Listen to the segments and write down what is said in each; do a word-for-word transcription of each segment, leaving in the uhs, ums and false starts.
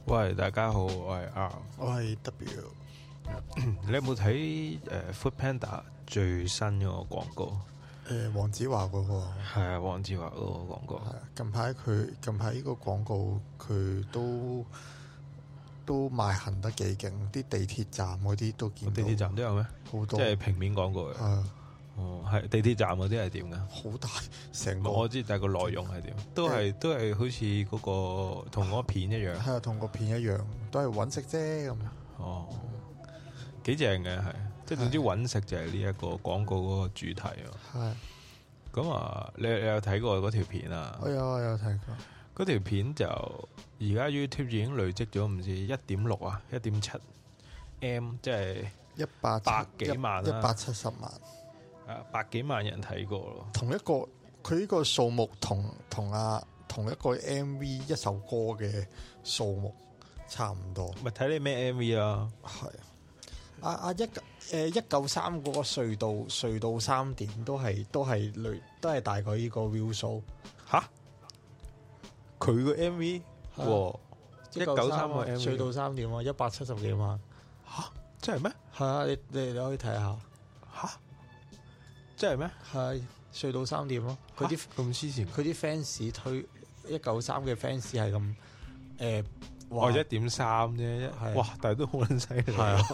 喂，大家好，我係 R， 我係 W。 你有冇睇誒 Foodpanda 最新嗰個廣告？ 誒黃子華嗰個係啊，黃子華嗰個廣告。 係啊，近排佢近排呢個廣告佢都都賣行得幾勁，啲地鐵站嗰啲都見到。 地鐵站都有咩？ 好多， 即係平面廣告嘅。 係哦，係地鐵站嗰啲係點㗎？ 好大成個。 我知，但係個內容係點？都係都係好似嗰個同嗰個片一樣。 係啊，同個片一樣，都係揾食啫咁。 哦，幾正嘅係，即係總之揾食就係呢一個廣告嗰個主題啊。 係。 咁啊，你你有睇過嗰條片啊？ 我有我有睇過。 嗰條片就而家 YouTube 已經累積咗唔知一點六啊，一點七 M， 即係一百百幾萬啦， 一百七十萬。 啊，百幾萬人睇過咯。 同一個佢呢個數目同同啊同一個 M V 一首歌嘅數目差唔多。 咪睇你咩 M V 啊？ 係啊啊一誒一九三嗰個隧道隧道三點都係都係類都係大概呢個 view 數。 吓？佢個 M V？哇！一九三個 M V 隧道三點啊，一百七十幾萬。 吓？真係咩？係啊，你你你可以睇下。 吓？真係咩？ 係隧道三點咯。佢啲咁黐線， 佢啲 fans 推一九三嘅 fans 係咁誒， 我一點三啫，哇！但係都好撚犀利，係啊，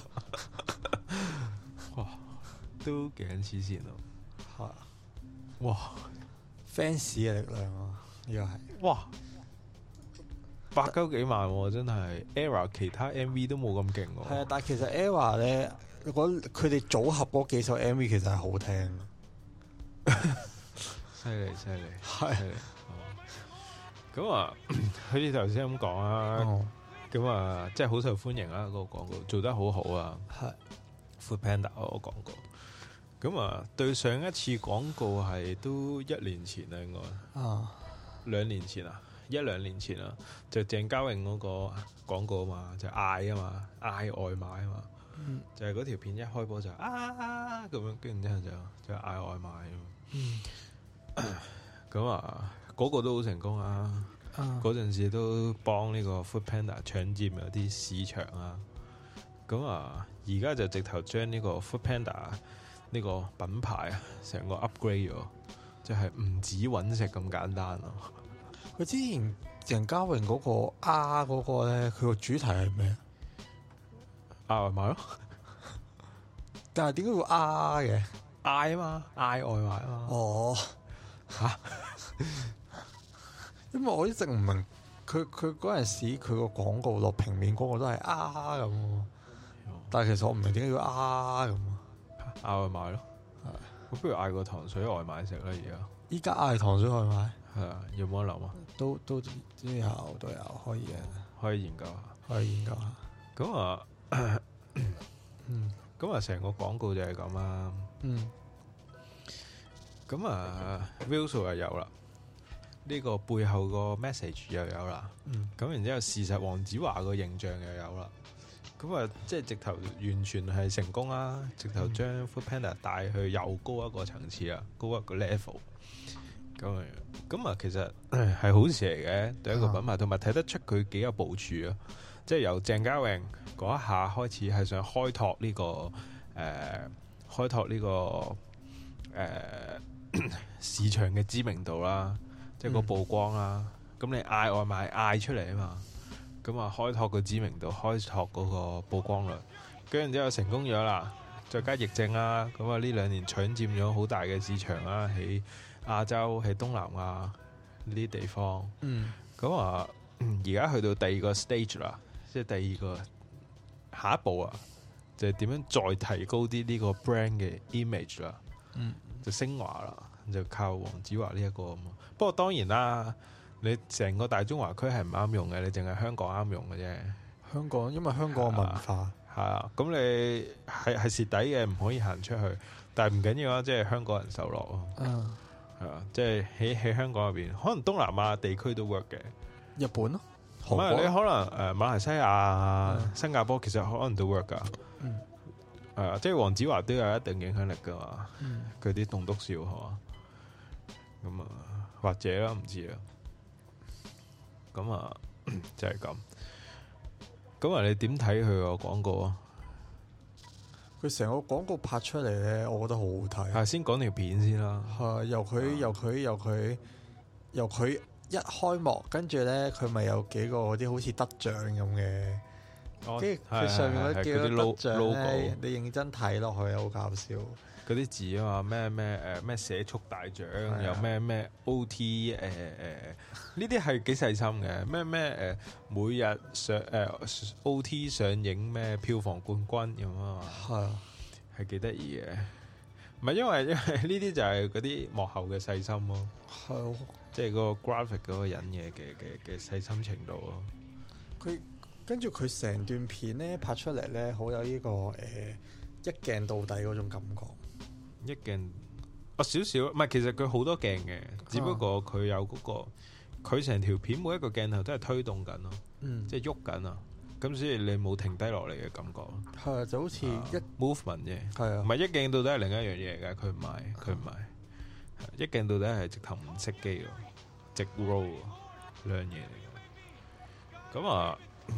哇，都幾撚黐線咯，係，哇 ，fans 嘅力量啊，呢個係， 哇，百鳩幾萬喎，真係 Era 其他 M V 都冇咁勁喎， 係啊，但係其實 Era 咧，佢哋組合嗰幾首 M V 其實係好聽。 犀利犀利， 係咁啊！好似頭先咁講啊，咁啊，即係好受歡迎啊！嗰個廣告做得好好啊，係 Foodpanda 嗰個廣告。咁啊，對上一次廣告係都一年前啦，應該啊，兩年前啊，一兩年前啊，就鄭嘉穎嗰個廣告啊嘛，就嗌啊嘛，嗌外賣啊嘛，嗯、就係嗰條片一開播就啊咁樣，跟住之後就就嗌外賣啊。嗯，咁啊，嗰、那個都好成功啊！嗰陣、啊、時都幫呢個 Foodpanda 搶佔有啲市場啊！咁啊，而家就直頭將呢個 Foodpanda 呢個品牌啊，成個 upgrade 咗，即係唔止揾食咁簡單咯、啊。 佢之前鄭嘉穎嗰個 R 嗰個咧，佢個主題係咩啊？ 嗌外賣咯， 但係點解會 R 嘅？ 嗌啊嘛，嗌外賣啊嘛。哦，吓、啊， 因為我一直唔明佢佢嗰陣時佢個廣告落平面廣告都係啊咁，但係其實我唔明點解要啊咁。 嗌外賣咯，係。我不如嗌個糖水外賣食啦，而家。依家嗌糖水外賣， 係啊，有冇得諗啊？ 都都都有都有可以嘅， 可以研究下， 可以研究下。 咁啊，嗯，咁啊，成個廣告就係咁啦。嗯，咁啊 view 數又有啦，呢、這個背後個 message 又有啦，嗯，咁然之後事實黃子華個形象又有啦，咁啊，即係直頭完全係成功啦，直頭將 Foodpanda 帶去又高一個層次啊，高一個 level，咁啊，咁啊，其實係好事嚟嘅，對一個品牌，同埋睇得出佢幾有部署啊，即係由鄭嘉穎嗰一下開始係想開拓呢、這個誒。呃開拓呢、這個誒、呃、市場嘅知名度啦，即係個曝光啦。咁、嗯、你嗌外賣嗌出嚟啊嘛，咁啊開拓個知名度，開拓嗰個曝光率，跟住之後成功咗啦。再加疫症啦，咁啊呢兩年搶佔咗好大嘅市場啦，喺亞洲、喺東南亞呢啲地方。嗯，咁啊而家去到第二個 stage 啦，即係第二個下一步啊。就係點樣再提高啲呢個 brand 嘅 image 啦，嗯，就升華啦，就靠黃子華呢一個咁。不過當然啦，你成個大中華區係唔啱用嘅，你淨係香港啱用嘅啫。香港因為香港嘅文化係啊，咁你係係蝕底嘅，唔可以行出去。但係唔緊要啊，即係香港人受落咯。嗯，係啊，即係喺喺香港入邊，可能東南亞地區都 work 嘅。日本咯，唔係你可能誒、呃、馬來西亞、嗯、新加坡其實可能都 work 噶。嗯，係啊，即係黃子華都有一定影響力噶嘛，佢啲棟篤笑係嘛，咁啊或者啦唔知啊，咁啊就係咁， 咁啊，你點睇佢個廣告啊？ 佢成個廣告拍出嚟咧，我覺得好好睇。 係先講條片先啦。 係由佢由佢由佢由佢一開幕，跟住咧佢咪有幾個嗰啲好似得獎咁嘅，跟住佢上面嗰幾個得獎咧，你認真睇落去好搞笑。 嗰啲字啊嘛，咩咩誒咩寫速大獎，又咩咩 O T 誒誒，呢啲係幾細心嘅。咩咩誒每日上誒、呃、O T 上映咩票房冠軍咁啊嘛，係啊，係幾得意嘅。唔係因為因為呢啲就係嗰啲幕後嘅細心咯，係，即係個 graphic 嗰個人嘅嘅嘅嘅細心程度咯。 佢跟住佢成段片咧拍出嚟咧，好有呢、這個誒、呃、一鏡到底嗰種感覺。 一鏡哦少少，唔係其實佢好多鏡嘅，只不過佢有嗰、嗰個佢成條片每一個鏡頭都係推動緊咯，嗯、即係喐緊啊，咁所以你冇停低落嚟嘅感覺。係啊，就好似一、uh, movement 啫，係啊，唔係一鏡到底係另一樣嘢嚟㗎，佢唔係佢唔係一鏡到底係直頭唔熄機喎，直 roll 兩樣嘢嚟嘅。咁啊，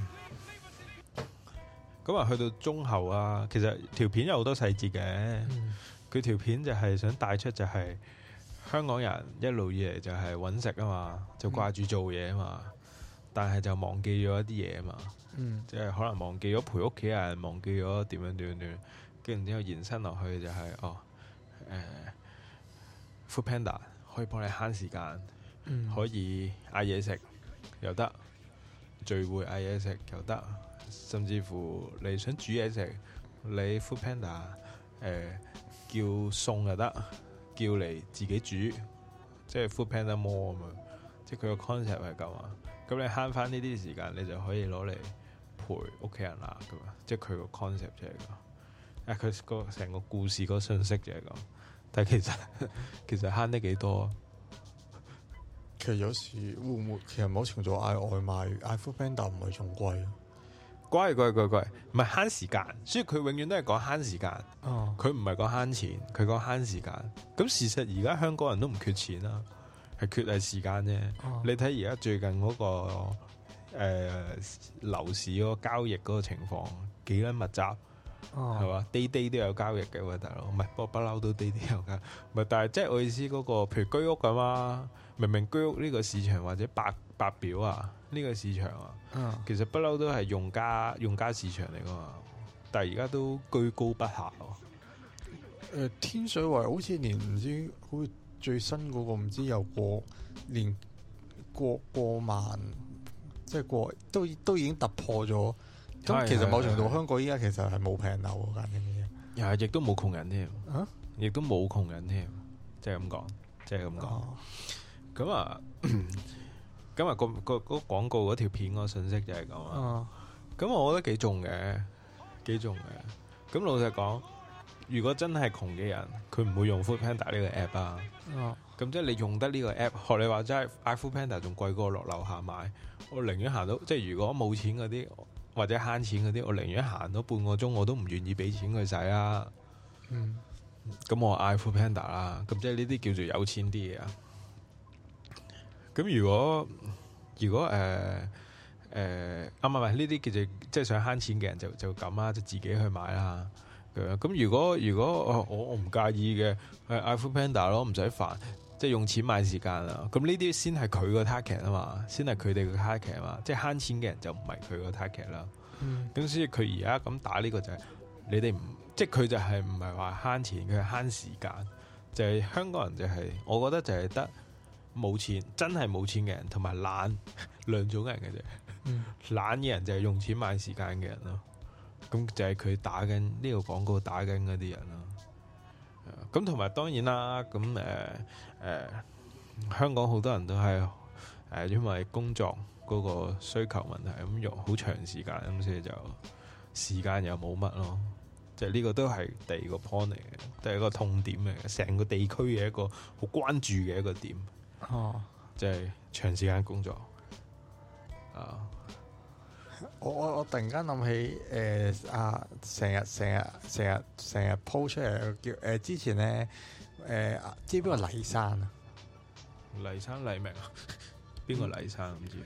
咁啊去到中後啊，其實條片有好多細節嘅。嗯佢條片就係想帶出就係香港人一路以嚟就係揾食啊嘛，就掛住做嘢啊嘛，嗯、但係就忘記咗一啲嘢啊嘛，嗯、即係可能忘記咗陪屋企人，忘記咗點樣點樣點樣，跟住之後延伸落去就係、是、哦誒、呃、Foodpanda 可以幫你慳時間，嗯、可以嗌嘢食又得，聚會嗌嘢食又得，甚至乎你想煮嘢食，你 Foodpanda 誒、呃叫餸又得，叫嚟自己煮，即係 Foodpanda More 咁樣，即係佢個 concept 係咁啊。咁你慳翻呢啲時間，你就可以攞嚟陪屋企人啦，咁啊，即係佢個 concept 就係咁。誒，佢個成個故事個信息就係咁，但係其實其實慳得幾多？ 其實有時會唔會，其實某程度嗌外賣嗌 Foodpanda 唔係仲貴。 貴貴貴貴，唔係慳時間，所以佢永遠都係講慳時間。佢唔係講慳錢，佢講慳時間。咁事實而家香港人都唔缺錢啦，係缺係時間啫。哦、你睇而家最近嗰、那個誒、呃、樓市嗰個交易嗰個情況幾撚密集，係嘛、哦？day day 都有交易嘅喎，大佬。唔係，不過不嬲都 day day 有交易。唔係，但係即係我意思嗰、那個，譬如居屋咁啊，明明居屋呢個市場或者白白表啊。呢個市場啊，嗯、其實不嬲都係用家用家市場嚟噶嘛，但係而家都居高不下喎、啊呃。天水圍好似連唔知好似最新嗰個唔知有過連過過萬，即係過都都已經突破咗。咁其實某程度香港依家其實係冇平樓嗰間嘅， 又係亦都冇窮人添，亦都冇窮人添，即係咁講，即係咁講。咁啊。咁啊，個個嗰廣告嗰條片個信息就係咁啊。咁、uh, 我覺得幾重嘅，幾重嘅。咁老實講，如果真係窮嘅人，佢唔會用 Foodpanda 呢個 app 啊。咁、uh, 即係你用得呢個 app，學你話齋嗌 Foodpanda 仲貴過落樓下買。我寧願行到，即係如果冇錢嗰啲或者慳錢嗰啲，我寧願行到半個鐘，我都唔願意俾錢佢使啊。咁、uh, 我嗌 Foodpanda 啦。咁即係呢啲叫做有錢啲嘅啊。咁如果如果誒誒啊唔係唔係呢啲叫做即係想慳錢嘅人就就咁啦，就自己去買啦。咁如果如果我我唔介意嘅，係嗌 Foodpanda 咯，唔使煩，即係用錢買時間啦。咁呢啲先係佢個 target 啊嘛，先係佢哋個 target 啊嘛。即係慳錢嘅人就唔係佢個 target 啦。咁、嗯、所以佢而家咁打呢個就係、是、你哋唔即係佢就係唔係話慳錢，佢係慳時間。就係、是、香港人就係、是、我覺得就係得。冇錢，真係冇錢嘅人，同埋懶兩種人嘅啫。嗯、懶嘅人就係用錢買時間嘅人咯。咁就係佢打緊呢、這個廣告打緊嗰啲人咯。咁同埋當然啦，咁誒誒香港好多人都係誒、呃、因為工作嗰個需求問題，咁用好長時間，咁所以就時間又冇乜咯。即係呢個都係第二個 point 嚟嘅，都係一個痛點嚟嘅，成個地區嘅一個好關注嘅一個點。哦，即係長時間工作啊！ 我我我突然間諗起誒啊，成日成日成日成日 po 出嚟叫誒、呃、之前咧誒、呃、知邊個黎生啊？ 黎生黎明啊？邊個黎生唔知啊？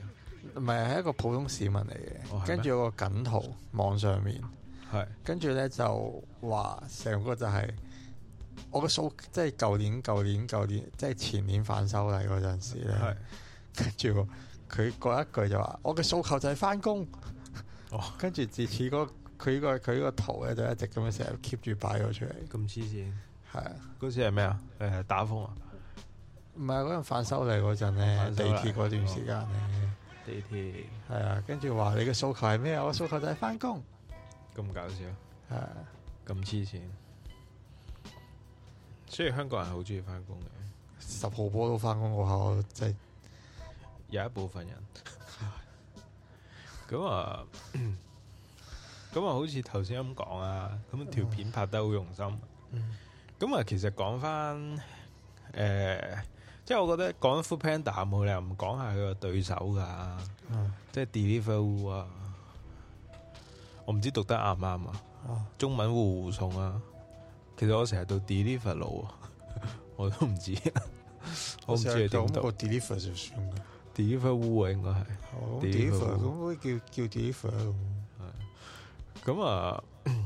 唔係係一個普通市民嚟嘅， 哦、 跟住有個梗圖網上面， 係跟住咧就話成個就係、是、我個數，即係舊年、舊年、舊年，即係前年反修例嗰陣時咧，跟住佢嗰一句就話：我嘅訴求就係翻工。哦，跟住自此嗰佢個佢個圖咧就一直咁樣成日 keep 住擺咗出嚟。 咁黐線， 係啊！ 嗰時係咩啊？誒打風啊？ 唔係嗰陣反修例嗰陣咧，地鐵嗰段時間咧。哦地鐵係啊，跟住話你嘅訴求係咩啊？我訴求就係翻工。 咁搞笑， 係啊， 咁黐線。所以香港人好中意翻工嘅， 十號波都翻工嗰下，即係有一部分人。咁啊，咁啊，好似頭先咁講啊，咁條片拍得好用心。咁啊、嗯，其實講翻誒。即係我覺得講 Foodpanda 冇理由唔講下佢個對手㗎，嗯、即係 Deliveroo 啊，我唔知讀得啱唔啱啊？哦、中文戶戶送啊，其實我成日讀 Deliveroo 啊，我都唔知，我唔知係點讀。 Deliver 就算嘅 ，Deliveroo 啊應該係。 哦 Deliver 咁可以叫叫 Deliver 咯。 係。咁啊，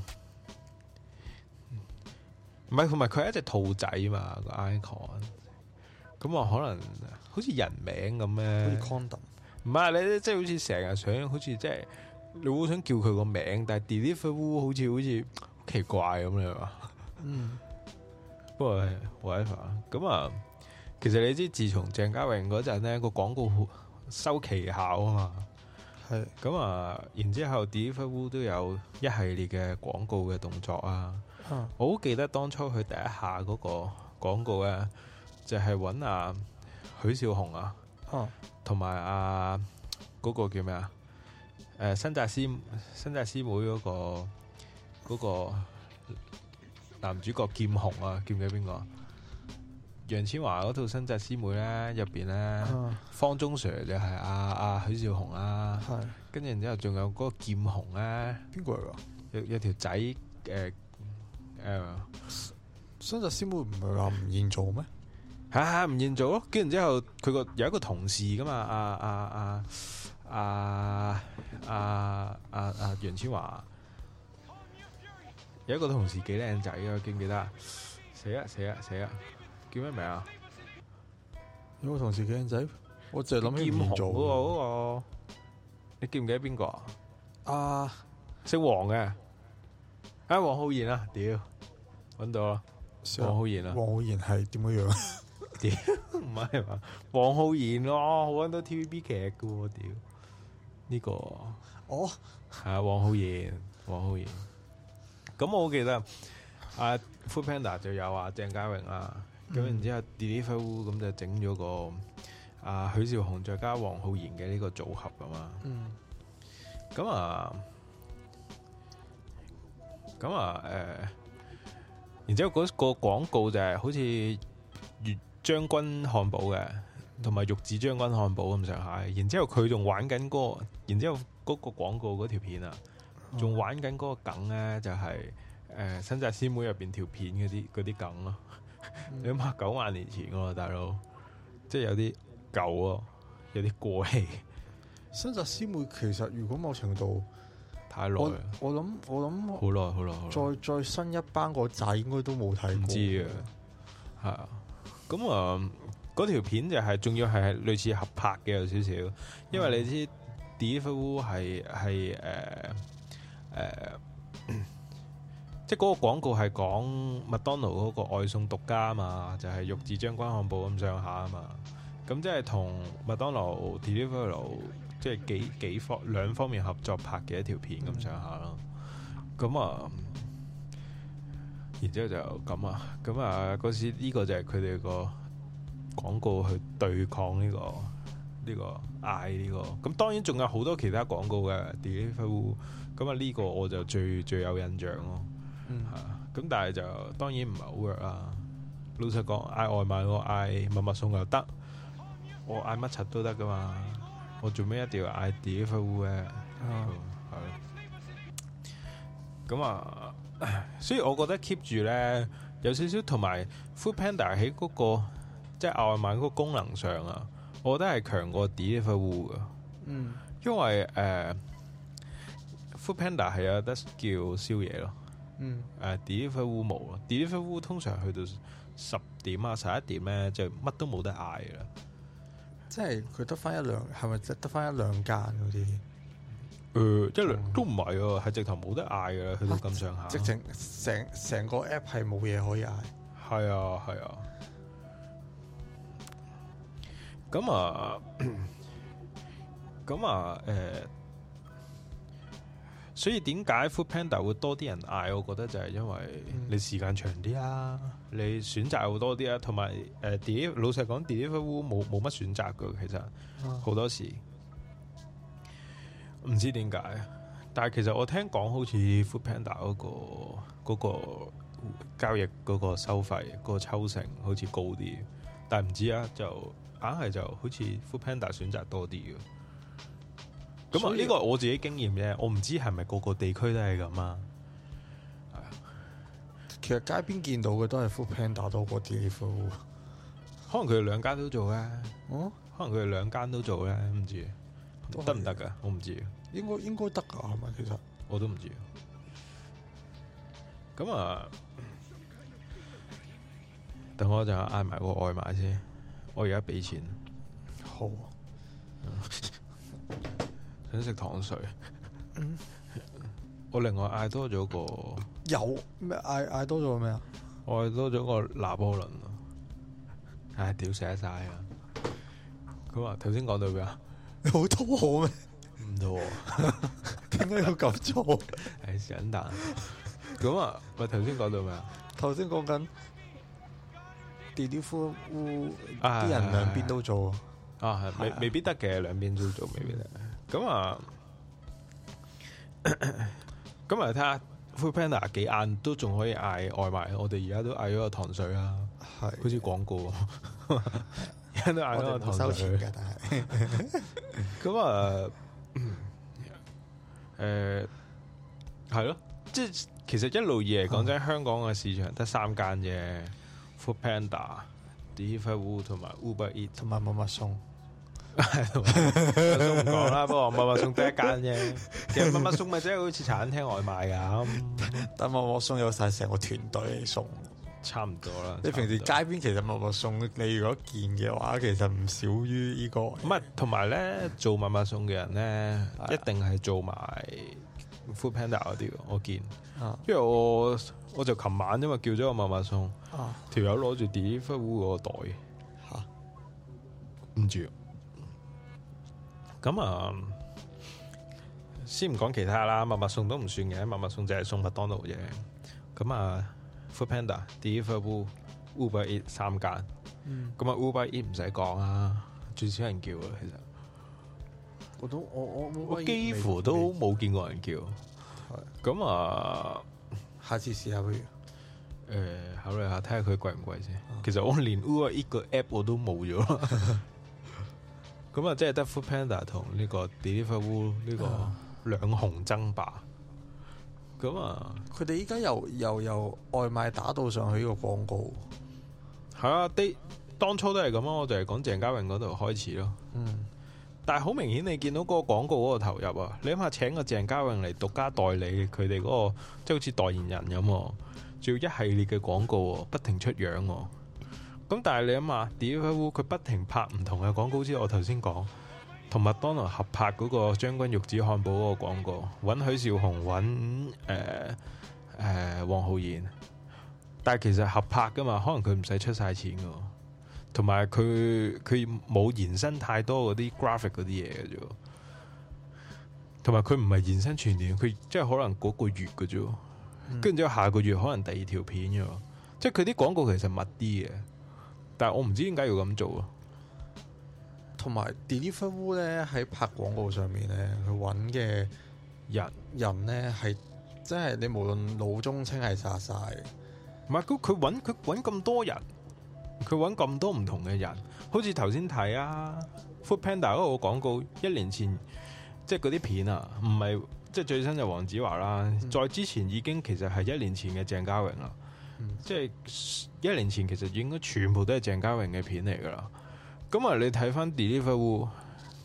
唔係同埋佢係一隻兔仔嘛個 icon。咁啊，可能好似人名咁咧， 好似 condom。 唔係你即係好似成日想，好似即係你好想叫佢個名，但係 Deliveroo 好似好似奇怪咁樣啊。嗯。不過 whatever 咁啊，其實你知，自從鄭嘉穎嗰陣咧個廣告收奇效啊嘛，係咁啊，然之後 Deliveroo 都有一系列嘅廣告嘅動作啊。嗯、我好記得當初佢第一下嗰個廣告咧。就係揾阿許紹雄啊，同埋阿嗰個叫咩啊？誒、呃，新紮師新紮師妹嗰、嗰個嗰、嗰個男主角劍雄啊，記唔記得邊個？楊千嬅嗰套新紮師妹咧，入邊咧，啊、方中 Sir 就係阿阿許紹雄啊，跟住然之後仲有嗰個劍雄咧， 邊個嚟㗎？ 有有條仔誒誒， 新紮師妹唔係話吳彥祖咩？ 係係吳彥祖咯，跟住之後佢個有一個同事噶嘛，阿阿阿阿阿阿阿楊千嬅有一個同事幾靚仔嘅，記唔記得啊？死啊死啊死啊！叫咩名啊？ 有個同事幾靚仔，我淨係諗起吳彥祖嗰個嗰個， 你記唔記得邊個啊？ 啊， 姓黃嘅，啊黃浩然啊，屌，搵到啦，黃浩然啊， 黃浩然係點樣樣？ 屌唔係嘛？黃浩然咯，好多 T V B 劇嘅喎，屌呢個哦係啊，黃浩然，黃浩然。咁我記得啊 Foodpanda 就有啊鄭嘉穎啊，咁、嗯、然之後 Deliveroo 咁就整咗個啊許紹雄再加黃浩然嘅呢個組合噶嘛。嗯。咁啊，咁啊，誒、呃，然之後嗰個廣告就係好似粵將軍漢堡嘅，同埋玉子將軍漢堡咁上下。然之後佢仲玩緊嗰、那個，然之後嗰個廣告嗰條片啊，仲玩緊嗰個梗咧，就係、是、誒、呃、新紮師妹入邊條片嗰啲嗰啲梗咯。嗯、你諗下九萬年前喎，大佬，即係有啲舊咯，有啲過氣。 新紮師妹其實如果某程度太耐， 我諗我諗好耐好耐， 再再新一班個仔應該都冇睇過。唔知啊，係啊。咁啊，嗰條片就係、是、仲要係類似合拍嘅有少少，因為你知 Deliveroo 係係誒誒，即係嗰個廣告係講麥當勞嗰個外送獨家啊嘛，就係、是、玉子將軍漢堡咁上下啊嘛。咁即係同麥當勞 Deliveroo 即係幾幾方兩方面合作拍嘅一條片咁上下咯。咁啊。然之後就咁啊，咁啊嗰時呢個就係佢哋個廣告去對抗呢、呢個呢、呢個嗌呢、呢個，咁當然仲有好多其他廣告嘅 Deliveroo，咁啊呢個我就最最有印象咯，係啊、嗯，咁但係就當然唔係好 work 啦。老實講，嗌外賣我嗌麥麥送又得，我嗌乜柒都得噶嘛，我做咩一定要嗌 Deliveroo 嘅？係咯，咁啊。所以我覺得 keep 住咧有少少，同埋 Foodpanda 喺嗰個即係外賣嗰個功能上啊，我覺得係強過 Deliveroo 噶。 嗯， 因為誒 Food Panda 係有得叫宵夜咯。 嗯， 誒 Deliveroo 冇咯 Deliveroo 通常去到十點啊十一點咧，就乜都冇得嗌㗎啦。 即係佢得翻一兩，係咪得翻一兩間嗰啲？ 誒、呃，一兩都唔係喎，係直頭冇得嗌㗎啦，去到咁上下。直情成成個 app 係冇嘢可以嗌。係啊，係啊。咁啊，咁啊，誒、呃，所以點解 Food Panda 會多啲人嗌？我覺得就係因為你時間長啲啊，嗯、你選擇會多啲啊，同埋誒 Deliveroo 老實講 Deliveroo 冇冇乜選擇㗎，其實好、啊、多時。唔知點解，但係其實我聽講好似 Food Panda 嗰、嗰個嗰、嗰個交易嗰個收費嗰、嗰個抽成好似高啲，但係唔知啊，就硬係就好似 Food Panda 選擇多啲嘅。咁啊，呢個我自己經驗啫，我唔知係咪個個地區都係咁啊。 其實街邊見到嘅都係 Food Panda 多過 Deliveroo， 可能佢哋兩間都做咧。 哦，可能佢哋兩間都做咧，唔知。得唔得噶？我唔知。 應該應該得噶，係咪？其實我都唔知。咁啊，等我就嗌埋個外賣先。我而家俾錢。 好。 想食糖水。嗯、我另外嗌多咗個。 有咩嗌嗌多咗咩啊？ 我嗌多咗個拿破崙啊！唉，屌寫晒啊！咁啊，頭先講到咩啊？ 你好肚餓咩？ 唔肚餓， 點解要咁做？ 係想蛋。咁啊，喂，頭先講到咩啊？ 頭先講緊 Deliveroo 啲人兩邊都做啊，係未未必得嘅，兩邊都做未必得。咁啊，咁啊，睇下 Food Panda 幾晏都仲可以嗌外賣。我哋而家都嗌咗個糖水啦，係好似廣告。而家都嗌咗個糖水，收錢嘅，但係咁啊，誒，係咯，即係其實一路以嚟講真，香港嘅市場得三間啫 ，Food Panda、Deliveroo 同埋 Uber Eats 同埋麥麥送。 麥麥送唔講啦，不過麥麥送得一間啫。其實麥麥送咪真係好似茶餐廳外賣咁， 但麥麥送有晒成個團隊嚟送。 差唔多啦。 你平時街邊其實麥麥送，你如果見嘅話，其實唔少於呢個。 唔係，同埋咧做麥麥送嘅人咧，一定係做埋 Food Panda 嗰啲。我見，啊、因為我我就琴晚因為叫咗個麥麥送，條友攞住 Deliveroo 嗰個袋，吓唔住。咁啊，先唔講其他啦，麥麥送都唔算嘅，麥麥送就係送麥當勞啫。咁啊。Food Panda、Deliveroo、Uber Eats 三間，咁啊、嗯、Uber Eats 唔使講啊，最少人叫啊，其實我都我我我幾乎都冇見過人叫，咁啊， 下次試下不如，誒、 呃、考慮下睇下佢貴唔貴先。啊、其實我連 Uber Eats 個 app 我都冇咗，咁啊，即係得 Food Panda 同呢個 Deliveroo 呢個兩雄爭霸。咁啊！ 佢哋依家又又由外賣打到上去呢個廣告， 係啊！啲當初都係咁啊！我就係講鄭嘉穎嗰度開始咯。嗯，但係好明顯，你見到嗰個廣告嗰個投入啊！你諗下，請個鄭嘉穎嚟獨家代理佢哋嗰個，即係好似代言人咁，仲要一系列嘅廣告，不停出樣。咁但係你諗下 Deliveroo 佢不停拍唔同嘅廣告之後，我頭先講。同麥當勞合拍嗰個將軍玉子漢堡嗰個廣告，揾許紹雄，揾誒誒黃浩然，但係其實合拍噶嘛，可能佢唔使出晒錢噶，同埋佢佢冇延伸太多嗰啲 graphic 嗰啲嘢嘅啫，同埋佢唔係延伸全年，佢即係可能嗰個月嘅啫，跟住之後下個月可能第二條片嘅，即係佢啲廣告其實密啲嘅，但係我唔知點解要咁做啊。 同埋 Deliveroo 咧喺拍廣告上面咧，佢揾嘅人人咧係真係你無論老中青係殺晒。 唔係佢佢揾佢揾咁多人，佢揾咁多唔同嘅人，好似頭先睇啊 Food Panda 嗰個廣告，一年前即係嗰啲片啊，唔係即係最新就黃子華啦，嗯、再之前已經其實係一年前嘅鄭嘉穎啦，嗯、即係一年前其實應該全部都係鄭嘉穎嘅片嚟噶啦。咁啊！你睇翻 Deliveroo，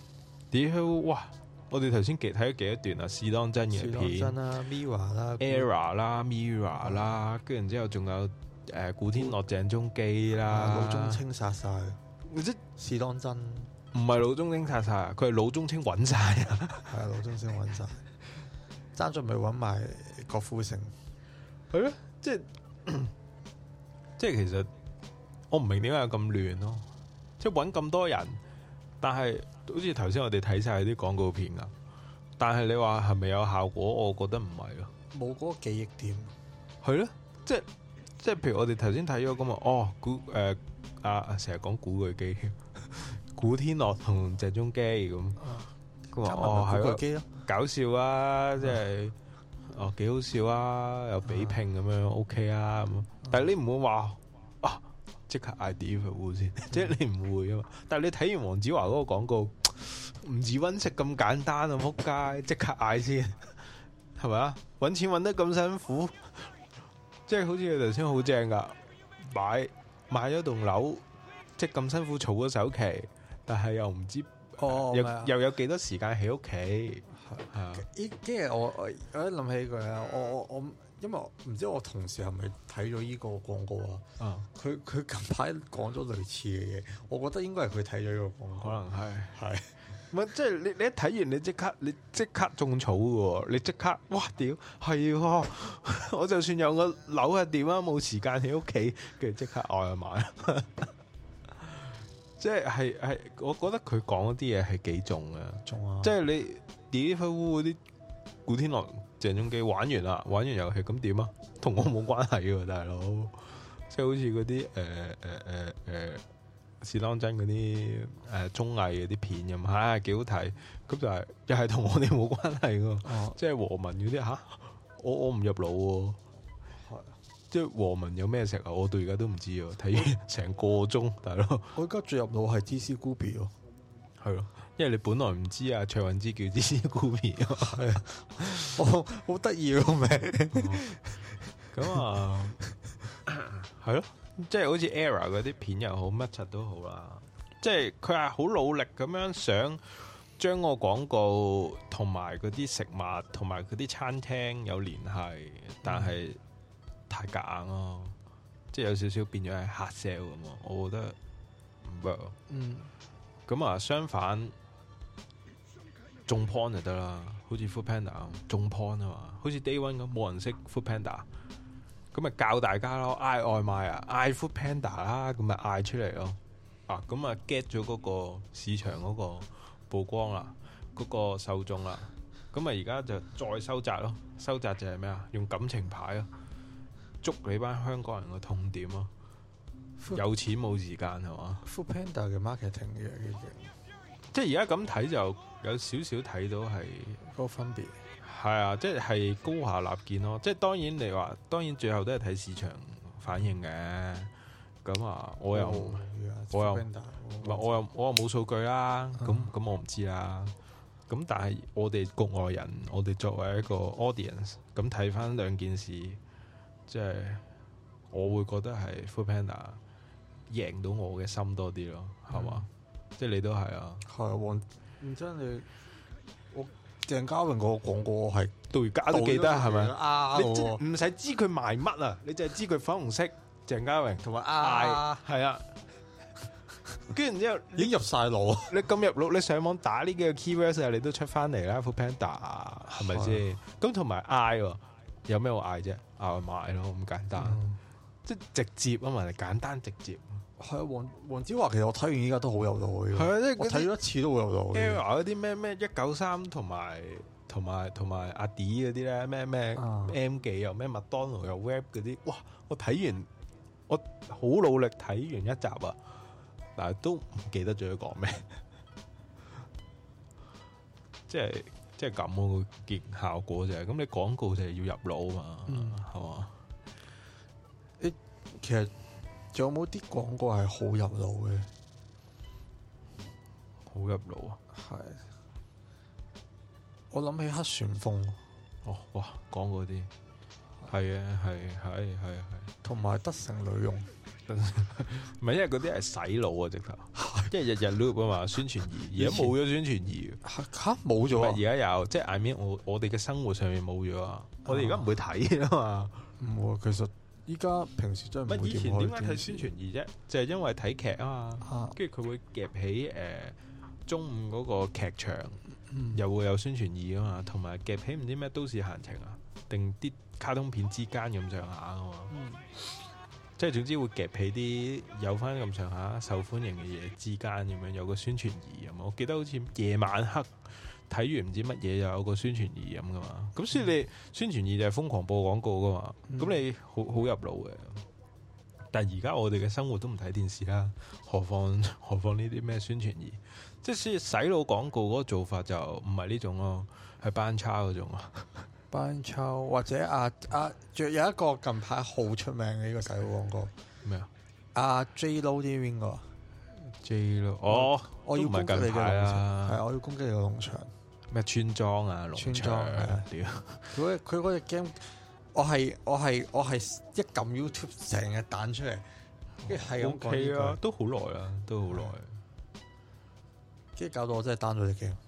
屌哇！我哋頭先幾睇咗幾多段啊？試當真嘅片，試當真啦 ，Mirror 啦 ，Era 啦 ，Mirror 啦，跟住然之後仲有誒古天樂、鄭中基啦， 老中青殺晒， 即試當真， 唔係老中青殺晒，佢係老中青揾晒啊！ 係啊，老中青揾晒，爭咗咪揾埋郭富城， 係咯，即係即係其實我唔明點解有咁亂咯，即係揾咁多人，但係。好似頭先我哋睇晒啲廣告片啊，但係你話係咪有效果？我覺得唔係咯， 冇嗰個記憶點。 係咯，即係即係譬如我哋頭先睇咗咁啊，哦古誒啊成日講古巨基，古天樂同鄭中基咁，佢話、啊、哦係咯，搞笑啊，即係、啊、哦幾好笑啊，有比拼咁樣 OK 啊咁，但係你唔會話啊。即刻嗌 delivery 先，即係你唔會啊嘛。但係你睇完黃子華嗰個廣告，唔止搵食咁簡單啊！仆街，即刻嗌先，係咪啊？搵錢搵得咁辛苦，即係好似佢頭先好正噶，買買咗棟樓，即係咁辛苦儲咗首期，但係又唔知哦， 又又有幾多時間喺屋企。係啊， 依即係我我我一諗起佢啊，我我我。因為唔知我同事係咪睇咗依個廣告啊？佢佢近排講咗類似嘅嘢，我覺得應該係佢睇咗依個廣告， 可能係係， 唔係即係你你一睇完你即刻你即刻種草嘅喎，你即刻哇屌係喎！我就算有個樓係點啊，冇時間喺屋企，跟住即刻嗌去買，即係係係，我覺得佢講嗰啲嘢係幾重嘅， 重啊！ 即係你 Deliveroo 嗰啲古天樂。鄭中基玩完啦，玩完遊戲咁點啊？同我冇關係嘅大佬，即係好似嗰啲誒誒誒誒試當真嗰啲誒綜藝嗰啲片咁，係幾好睇。咁就係又係同我哋冇關係嘅，啊、即係和文嗰啲吓，我我唔入腦喎。係，即係和文有咩食啊？我到而家都唔知啊！睇完成個鐘，大佬。我而家最入腦係芝士菇比咯，係咯。因為你本來唔知啊，卓韻芝叫芝士菇皮啊，係啊，我好得意個名。咁啊，係咯，即係好似 Era 嗰啲片又好，乜柒都好啦。即係佢係好努力咁樣想將個廣告同埋嗰啲食物同埋嗰啲餐廳有聯繫，但係太夾硬咯，即係有少少變咗係 hard sell 咁啊。我覺得唔 work。嗯，咁啊，相反。中 point 就得啦，好似 Foodpanda 咁中 point 啊嘛，好似 Day One 咁冇人識 Foodpanda，咁咪教大家咯，嗌外賣啊，嗌 Foodpanda 啦，咁咪嗌出嚟咯，啊咁啊 get 咗嗰個市場嗰個曝光啦，嗰、嗰個受眾啦，咁啊而家就再收窄咯，收窄就係咩啊？用感情牌咯，捉你班香港人個痛點咯，有錢冇時間係嘛 ？Foodpanda 嘅 marketing 嘅嘅嘢。 即係而家咁睇就有少少睇到係嗰個分別， 係啊，即係高下立見咯。即係當然你話，當然最後都係睇市場反應嘅。咁啊，我又、oh, yeah, 我又唔係我又我又冇數據啦。咁咁、uh. 我唔知啦。咁但係我哋局外人，我哋作為一個 audience，咁睇翻兩件事，即係我會覺得係 Foodpanda 贏到我嘅心多啲咯，係嘛？嗯即係你都係啊，係啊，黃唔真你我鄭嘉穎個廣告係到而家都記得係咪啊？你唔使知佢賣乜啊，你就係知佢粉紅色鄭嘉穎同埋啊，係啊，跟住然之後已經入晒腦，你咁入腦，你上網打呢幾個 keywords 啊，你都出翻嚟啦 Foodpanda 係咪先？咁同埋嗌有咩好嗌啫？嗌外賣咯，咁簡單，嗯、即係直接啊嘛，簡單直接。係啊，黃黃子華其實我睇完依家都好有道理。係啊，即係我睇咗一次都好有道理。Era 嗰啲咩咩一九三同埋同埋同埋阿 D 嗰啲咧，咩咩 M 記又咩麥當勞又 Web 嗰啲，哇！我睇完我好努力睇完一集啊，但係都唔記得咗佢講咩。即係即係咁個結效果就係咁，你廣告就係要入腦啊嘛，係嘛、嗯？誒，其實。仲有冇啲廣告係好入腦嘅？好入腦啊！係，我諗起黑旋風。哦，哇，講嗰啲係啊，係係係係，同埋德成女傭，唔係因為嗰啲係洗腦啊，直頭係即係日日 loop 啊嘛，宣傳儀而家冇咗宣傳儀， 吓冇咗啊！ 而家有，即係 I mean 我我哋嘅生活上面冇咗啊！我哋而家唔會睇啊嘛。 唔會，其實依家平時真係唔會點開電視。以前點解睇宣傳儀啫？就係因為睇劇啊嘛，跟住佢會夾起誒、呃、中午嗰個劇場，嗯、又會有宣傳儀啊嘛，同埋夾起唔知咩都市閒情啊，定啲卡通片之間咁上下啊嘛。嗯即係總之會夾起啲有翻咁上下受歡迎嘅嘢之間咁樣有個宣傳儀咁，我記得好似夜晚黑睇完唔知乜嘢又有個宣傳儀咁噶嘛，咁所以你宣傳儀就係瘋狂播廣告噶嘛，咁、嗯、你好好入腦嘅。但係而家我哋嘅生活都唔睇電視啦，何況何況呢啲咩宣傳儀？即係洗洗腦廣告嗰個做法就唔係呢種咯，係班差嗰種啊。 班抽或者啊啊，仲有一個近排好出名嘅呢個洗腦廣告咩啊？ 阿 J Lo 啲邊個 J Lo 哦， 我要攻擊你嘅農場，係我要攻擊你個農場咩村莊啊？農場啊！屌佢佢嗰隻 game，我係我係我係一撳 YouTube 成日彈出嚟，跟住係咁講啊，都好耐啦，都好耐， 跟住搞到我真係 down 咗隻 game。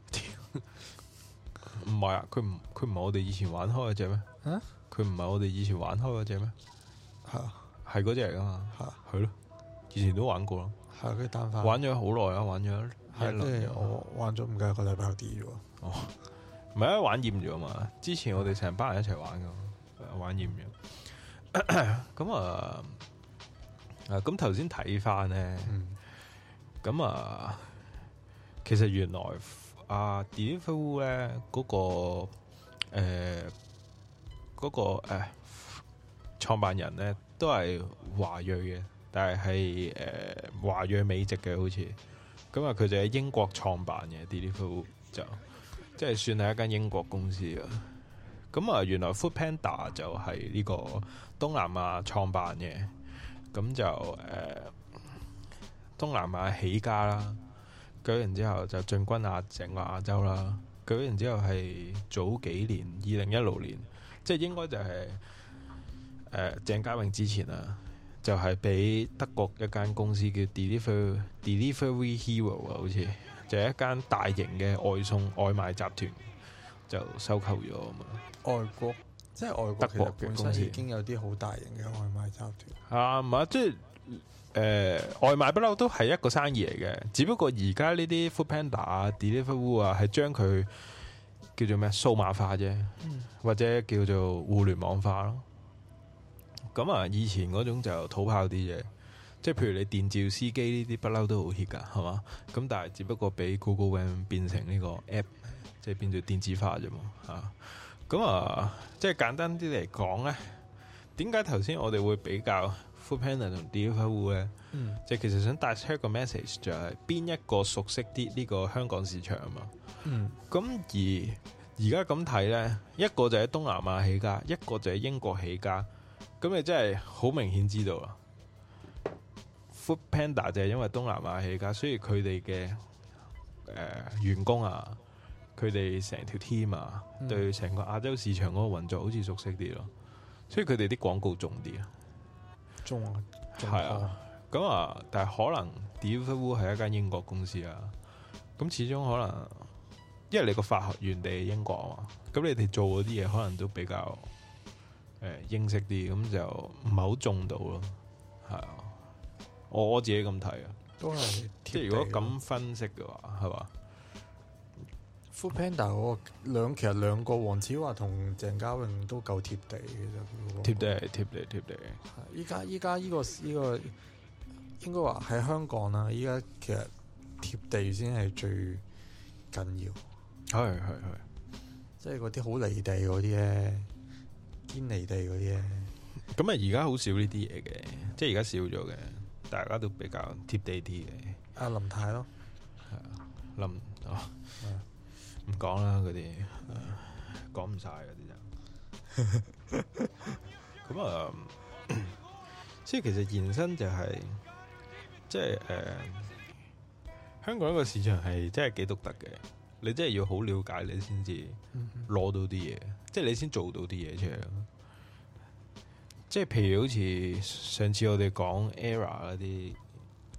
唔係啊，佢唔佢唔係我哋以前玩開嗰隻咩？佢唔係我哋以前玩開嗰隻咩？係啊，係嗰隻嚟噶嘛？係係咯，以前都玩過咯。係佢單翻玩咗好耐啦，玩咗係即係我玩咗唔夠一個禮拜啲啫喎。哦，唔係啊，玩厭咗嘛？之前我哋成班人一齊玩噶，玩厭咗。咁啊啊！咁頭先睇翻咧，咁、嗯、啊，其實原來。啊 Deliveroo 咧嗰個誒嗰、呃那個誒、呃、創辦人咧都係華裔嘅，但係係誒華裔美籍嘅好似，咁啊佢就喺英國創辦嘅 Deliveroo 就即係算係一間英國公司啊。咁啊原來 Foodpanda 就係呢個東南亞創辦嘅，咁就誒、呃、東南亞起家啦。舉完之後就進軍亞整個亞洲啦。舉完之後係早幾年，二零一六年，即係應該就係、是、誒、呃、鄭嘉穎之前啊，就係、是、俾德國一間公司叫 Deliver Delivery Hero 啊，好似就係、是、一間大型嘅外送外賣集團就收購咗啊嘛。外國即係外國德國嘅公司已經有啲好大型嘅外賣集團啊，唔係即係。誒、呃、外賣不嬲都係一個生意嚟嘅，只不過而家呢啲 Foodpanda 啊、Deliveroo 啊係將佢叫做咩數碼化啫，嗯、或者叫做互聯網化咯。咁啊，以前嗰種就土炮啲嘅，即係譬如你電召司機呢啲不嬲都好 hit 㗎，係嘛？咁但係只不過俾 Google Van 變成呢個 app， 即係變做電子化啫嘛嚇。咁啊，即係簡單啲嚟講咧，點解頭先我哋會比較 Foodpanda 同 Deliveroo 咧，嗯、就其實想帶出一個 message， 就係邊一個熟悉啲呢個香港市場啊嘛。咁、嗯、而而家咁睇咧，一個就喺東南亞起家，一個就喺英國起家，咁你真係好明顯知道啦。Foodpanda 就係因為東南亞起家，所以佢哋嘅誒員工啊，佢哋成條 team 啊，嗯、對成個亞洲市場嗰個運作好似熟悉啲咯，所以佢哋啲廣告重啲啊。中啊，係啊，咁啊，但係可能 Deliveroo 係一間英國公司啊，咁始終可能，因為你個發源地係英國啊嘛，咁你哋做嗰啲嘢可能都比較誒、呃、英式啲，咁就唔係好中到咯，係啊，我我自己咁睇啊，都係即係如果咁分析嘅話，係嘛？Foodpanda 嗰個兩其實兩個黃子華同鄭嘉穎都夠貼地嘅啫，貼地貼地貼地。依家依家依個依、呢個應該話喺香港啦，依家其實貼地先係最緊要。係係係，即係嗰啲好離地嗰啲咧，堅離地嗰啲咧。咁啊，而家好少呢啲嘢嘅，即係而家少咗嘅，大家都比較貼地啲嘅。阿林太咯，係啊，林哦。唔講啦，嗰啲講唔晒嗰啲就咁啊。所以其實延伸就係、是，即係誒、呃，香港一個市場係真係幾獨特嘅。你真係要好了解你先至攞到啲嘢，嗯、哼即係你先做到啲嘢出嚟。即係譬如好似上次我哋講 Era 嗰啲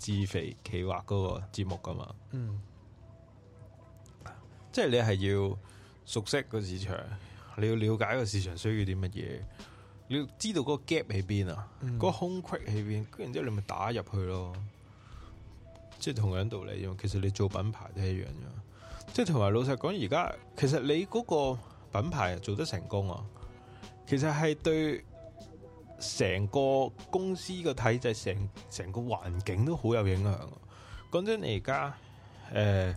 自肥企劃嗰個節目噶嘛。 嗯， 即係你係要熟悉個市場，你要了解個市場需要啲乜嘢，你要知道嗰個 gap 喺邊啊，嗰、嗯、個空隙喺邊，跟住之後你咪打入去咯。即係同樣道理，因為其實你做品牌都係一樣嘅。即係同埋老實講，而家其實你嗰個品牌做得成功啊，其實係對成個公司個體制、成成個環境都好有影響。講真，你而家誒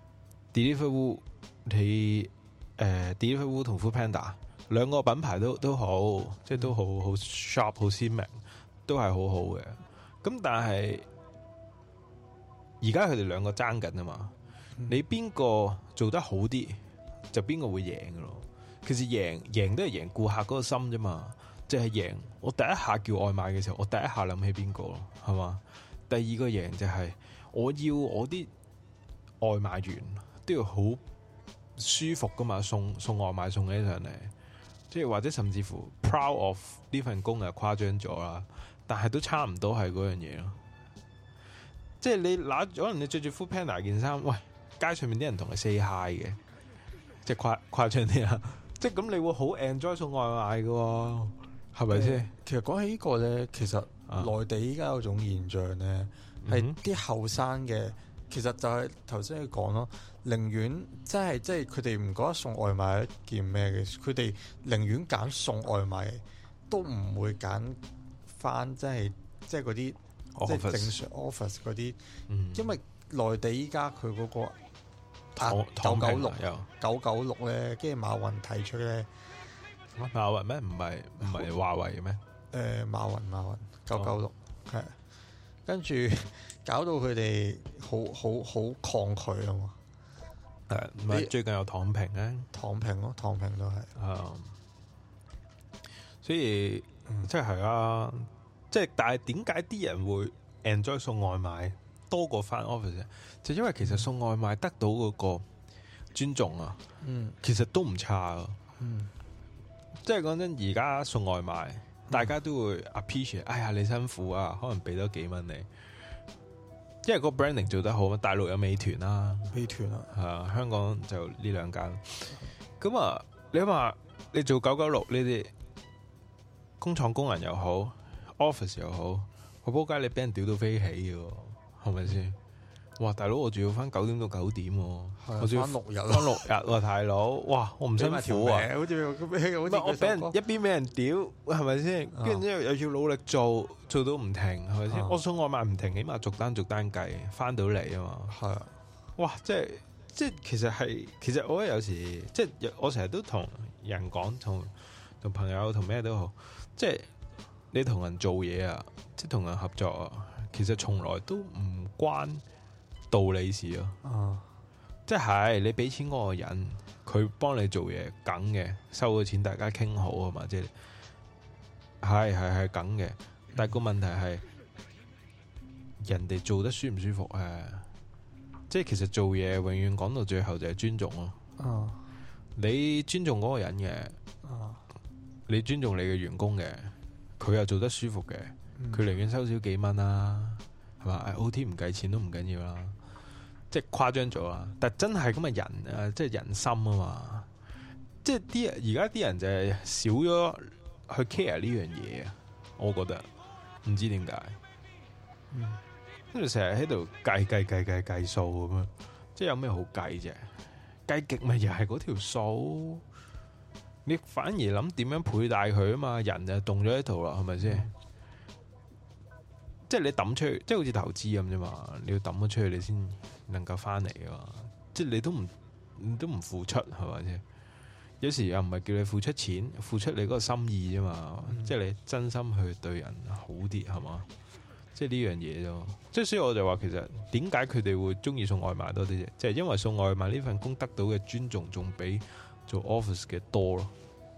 Deliveroo 你誒 Deliveroo 同 Foodpanda 兩個品牌都都好，即係都好好 sharp 好鮮明，都係好好嘅。咁但係而家佢哋兩個爭緊啊嘛，嗯、你邊個做得好啲，就邊個會贏噶咯。其實贏贏都係贏顧客嗰個心啫嘛，即係贏我第一下叫外賣嘅時候，我第一下諗起邊個咯，係嘛？第二個贏就係我要我啲外賣員都要好舒服噶嘛，送送外賣送起上嚟，即係或者甚至乎 proud of 呢份工係誇張咗啦，但係都差唔多係嗰樣嘢咯。即係你拿可能你着住 Foodpanda 件衫，喂，街上面啲人同你 say hi 嘅，即係誇誇張啲啊！即係咁你會好 enjoy 送外賣嘅，係咪先？ 其實講起呢個咧，其實內地依家有種現象咧，係啲後生嘅，其實就係頭先你講咯，寧願即係即係佢哋唔覺得送外賣係一件咩嘅，佢哋寧願揀送外賣，都唔會揀翻即係即係嗰啲。即係正常 office 嗰啲，嗯、因為內地依家佢嗰個九九六九九六咧，跟住馬雲提出咧， 馬雲咩？唔係唔係華為嘅咩？誒、 呃，馬雲馬雲九九六係，跟住搞到佢哋好好好抗拒啊嘛。 誒，唔係最近有躺平咧， 躺平咯，躺平都係。 啊、嗯，所以、嗯、即係係啊。即係，但係點解啲人會 enjoy 送外賣多過翻 office？就因為其實送外賣得到嗰個尊重啊，嗯，其實都唔差啊，嗯，即係講真，而家送外賣，大家都會 appreciate，哎呀你辛苦啊，可能俾多幾蚊你，因為個 branding 做得好嘛，大陸有美團啦， 美團啊， 係啊，香港就呢兩間，咁啊，你話你做九九六呢啲工廠工人又好。office 又好，我仆街你俾人屌到飛起嘅，係咪先？哇，大佬我仲要翻九點到九點，我仲要翻六日，翻六日喎，大佬，哇，我唔辛苦啊，好似好似我俾人一邊俾人屌，係咪先？跟住之後又要努力做，做到唔停，係咪先？我送外賣唔停，起碼逐單逐單計，翻到嚟啊嘛。係啊，哇，即係即係其實係，其實我覺得有時即係我成日都同人講，同同朋友同咩都好，即係。你同人做嘢啊，即係同人合作啊，其實從來都唔關道理事咯。啊，即係你俾錢嗰個人，佢幫你做嘢，梗嘅，收咗錢大家傾好啊嘛，即係係係係梗嘅。但係個問題係，人哋做得舒唔舒服啊？即係其實做嘢永遠講到最後就係尊重咯。啊，你尊重嗰個人嘅，啊，你尊重你嘅員工嘅。佢又做得舒服嘅，佢寧願收少幾蚊啦，係嘛？O T 唔計錢都唔緊要啦，即係誇張咗啦。但真係咁嘅人啊，即係人心啊嘛，即係啲而家啲人就係少咗去 care 呢樣嘢啊，我覺得唔知點解，跟住成日喺度計計計計計數咁樣，即係有咩好計啫？計極咪又係嗰條數。你反而諗點樣佩戴佢啊嘛，人就動咗喺度啦，係咪先？嗯、即係你抌出去，即係好似投資咁啫嘛。你要抌咗出去，你先能夠翻嚟噶嘛。即係你都唔，你都唔付出，係咪先？有時又唔係叫你付出錢，付出你嗰個心意啫嘛。嗯、即係你真心去對人好啲，係嘛？即係呢樣嘢啫。即係所以我就話，其實點解佢哋會中意送外賣多啲啫？即係因為送外賣呢份工得到嘅尊重，仲比做 office 嘅多咯。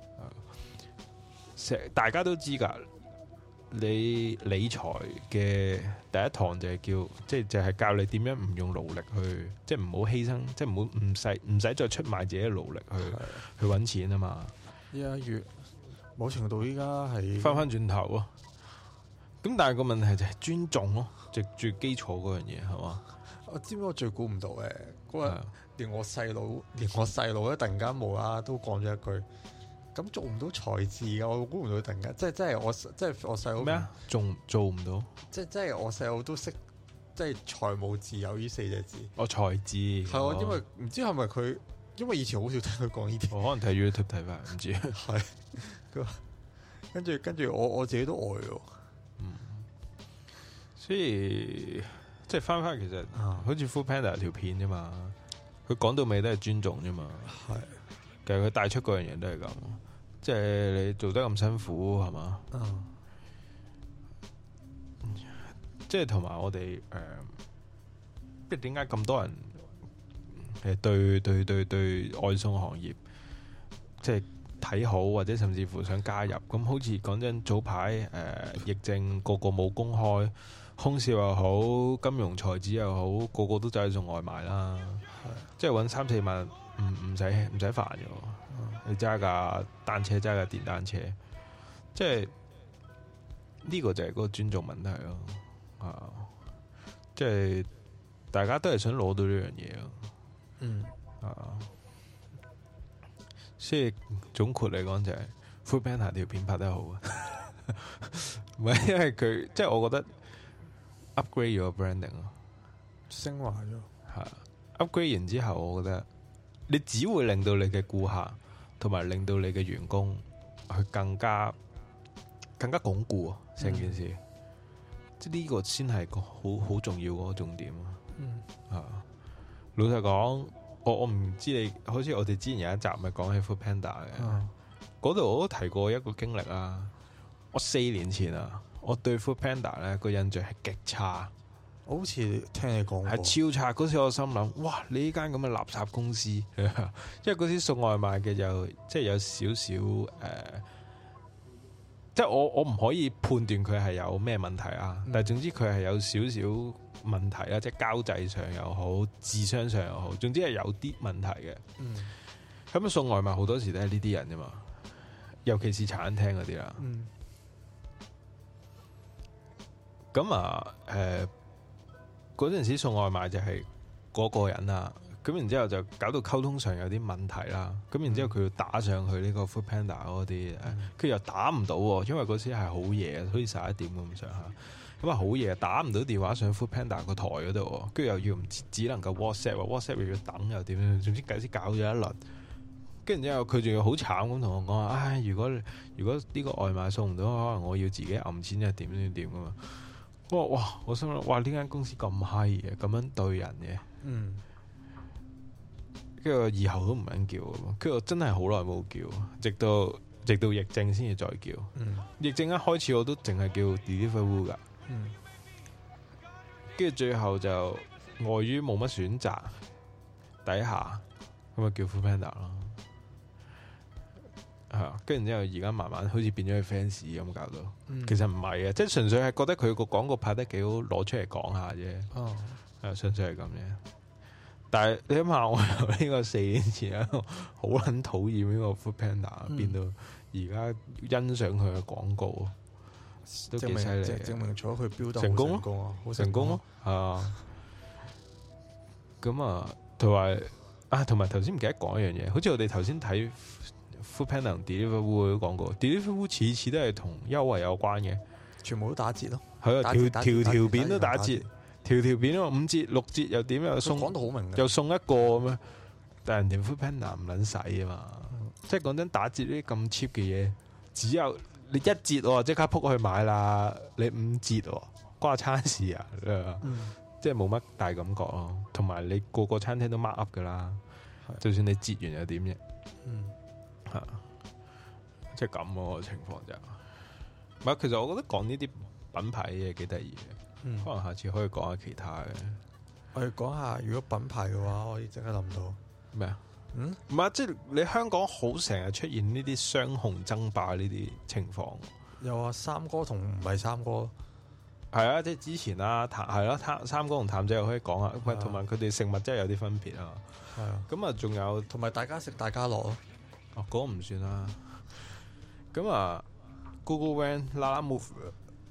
大家都知噶，你理財嘅第一堂就係叫，即係就係教你點樣唔用勞力去，即係唔好犧牲，即係唔好唔使唔使再出賣自己嘅勞力去的去搵錢啊嘛。依家越某程度依家係翻翻轉頭啊， 咁但係個問題就係尊重咯，就最基礎嗰樣嘢係嘛？ 我知唔知我最估唔到嘅嗰日，連我細佬，連我細佬咧突然間冇啦都講咗一句，咁做唔到財智噶，我估唔到突然間，即係即係我即係我細佬咩啊？做做唔到？即係即係我細佬都識，即係財務自由呢四隻字。 我財智係啊，因為唔知係咪佢，因為以前好少聽佢講呢啲。 我可能睇 YouTube 睇翻，唔知。 係，跟住跟住我我自己都呆咗。 嗯，所以。即係翻翻，其實好似 Foodpanda 條片啫嘛，佢講到尾都係尊重啫嘛。係，其實佢帶出嗰樣嘢都係咁，即係你做得咁辛苦係嘛？嗯。即係同埋我哋誒，即係點解咁多人誒對對對對外送行業即係睇好，或者甚至乎想加入？咁好似講真，早排誒、呃、疫症個個冇公開。空少又好，金融才子又好，個個都走去送外賣啦。即係揾三四萬，唔唔使唔使煩嘅。你揸架單車，揸架電單車，即係呢個就係嗰個尊重問題咯。啊，即係大家都係想攞到呢樣嘢咯。嗯啊，所以總括嚟講就係 Foodpanda 條片拍得好啊。唔係因為佢，即係我覺得。upgrade 咗 branding 咯， 升華咗係 upgrade 完之後，我覺得你只會令到你嘅顧客同埋令到你嘅員工去更加更加鞏固成件事，嗯、即係呢個先係個好好重要嗰個重點。嗯啊，老實講，我我唔知你，好似我哋之前有一集咪講起 Foodpanda 嘅，嗰度、嗯、我都提過一個經歷啊。我四年前啊。我對 Foodpanda 咧個印象係極差， 我好似聽你講過係超差。嗰時我心諗，哇！你呢間咁嘅垃圾公司，因為嗰時送外賣嘅就即係有少少誒，即係我我唔可以判斷佢係有咩問題啊。嗯、但係總之佢係有少少問題啦，即係交際上又好，智商上又好，總之係有啲問題嘅。嗯，咁送外賣好多時都係呢啲人啫嘛，尤其是茶餐廳嗰啲啦。嗯。咁啊，誒、呃，嗰陣時送外賣就係嗰個人啊，咁然之後就搞到溝通上有啲問題啦。咁然之後佢要打上去呢個 Foodpanda 嗰啲，佢、嗯、又打唔到，因為嗰時係好夜，好似十一點咁上下。咁啊好夜，打唔到電話上 Foodpanda 個台嗰度，跟住又要唔只能夠 WhatsApp，WhatsApp 又要等又點樣，總之計先搞咗一輪。跟住之後佢仲要好慘咁同我講話，唉，如果如果呢個外賣送唔到，可能我要自己揞錢，又點點點㗎嘛。哇哇！我心諗，哇！呢間公司咁閪嘅，咁樣對人嘅，嗯，跟住以後都唔肯叫，跟住我真係好耐冇叫，直到直到疫症先至再叫。嗯，疫症一開始我都淨係叫 Deliveroo 噶，嗯，跟住最後就礙於冇乜選擇底下，咁咪叫 Foodpanda 咯。係啊，跟住之後而家慢慢好似變咗佢 fans 咁搞到，嗯、其實唔係嘅，即係純粹係覺得佢個廣告拍得幾好，攞出嚟講下啫。哦，係純粹係咁嘅。但係你諗下，我由呢個四年前好撚討厭呢個 Foodpanda，嗯、變到而家欣賞佢嘅廣告，都幾犀利。 證明咗佢標得成功咯， 好成功咯，係啊。咁啊，同埋啊，同埋頭先唔記得講一樣嘢，好似我哋頭先睇。Foodpanda 同 Deliveroo 都講過 Deliveroo 次次都係同優惠有關嘅， 全部都打折咯。 係啊，條條條片都打折，條條片都五折六折又點又送， 講到好明嘅， 又送一個咁樣。但係人哋 Foodpanda 唔撚使啊嘛，嗯、即係講真打折呢啲咁 cheap 嘅嘢，只有你一折喎，即刻撲去買啦。你五折喎，關餐事啊，嗯、即係冇乜大感覺咯。同埋你個個餐廳都 mark up 噶啦，的就算你折完又點啫？嗯。吓，即係咁個情況就，唔係，其實我覺得講呢啲品牌嘅嘢幾得意嘅，嗯、可能下次可以講下其他嘅。 我哋講下如果品牌嘅話，我可以即刻諗到咩啊？嗯，唔係，即係你香港好成日出現呢啲雙雄爭霸呢啲情況。 有啊，三哥同唔係三哥， 係啊，即係之前啦，譚係咯，譚三哥同譚仔又可以講下，喂，同埋佢哋食物真係有啲分別啊。係啊，咁啊，仲有同埋大家食大家樂咯。 哦，嗰、那個唔算啦。咁啊 ，Google Van、Lalamove，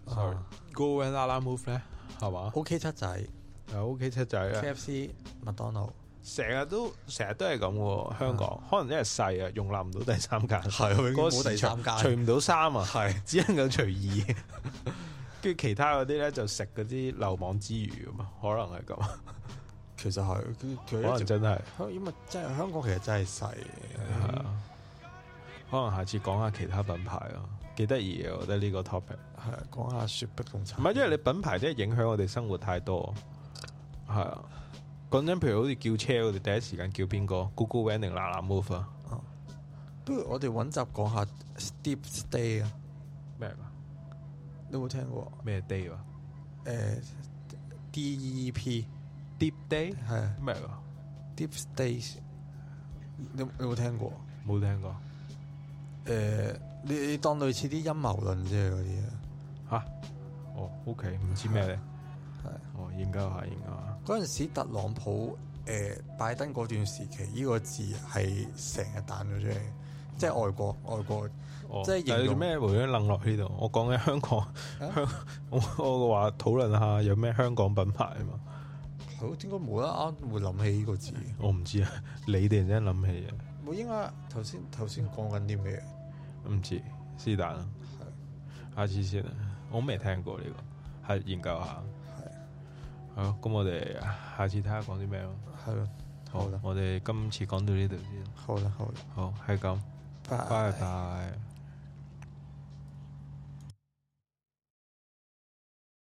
Sorry，Go and Lalamove 咧，係嘛 ？OK 七仔， 係 OK 七仔啊 ，K F C、麥當勞， 成日都成日都係咁喎。香港可能因為細啊，容納唔到第三間， 係嗰個冇第三間， 除唔到衫啊， 係只能夠除二。跟住其他嗰啲咧就食嗰啲漏網之魚咁嘛，可能係咁。 其實係，可能真係， 因為真係香港其實真係細。 係啊，可能下次講下其他品牌咯，幾得意嘅，我覺得呢個 topic 係啊，講下雪碧同茶。 唔係，因為你品牌真係影響我哋生活太多。係啊，講真，譬如好似叫車，我哋第一時間叫邊個 ？GoGoVan定 Lalamove啊？ 不如我哋揾集講下 Deep Stay 啊？ 咩㗎？ 你有冇聽過？ 咩 day 啊？ 誒 D E E P Deep Day 係咩㗎 ？Deep Stay 你你有冇聽過？ 冇聽過。 誒，你你當類似啲陰謀論啫嗰啲啊？ 嚇？哦 ，OK，唔知咩咧？ 係哦，研究下研究下。 嗰陣時特朗普誒拜登嗰段時期，呢個字係成日彈咗出嚟，即係外國外國。 哦、 即係形容咩回咗楞落呢度？我講緊香港，啊、香我我話討論下有咩香港品牌啊嘛。 好，應該冇啦，啱會諗起呢個字。 我唔知啊，你哋真諗起嘅。 冇應該頭先頭先講緊啲咩？ 唔知是但啦。係，下次先啊，我未聽過呢、這個，係研究下。係。好，咁我哋下次睇下講啲咩咯。 係咯。好啦， 我哋今次講到呢度先。 好啦，好啦。 好，係咁。拜拜。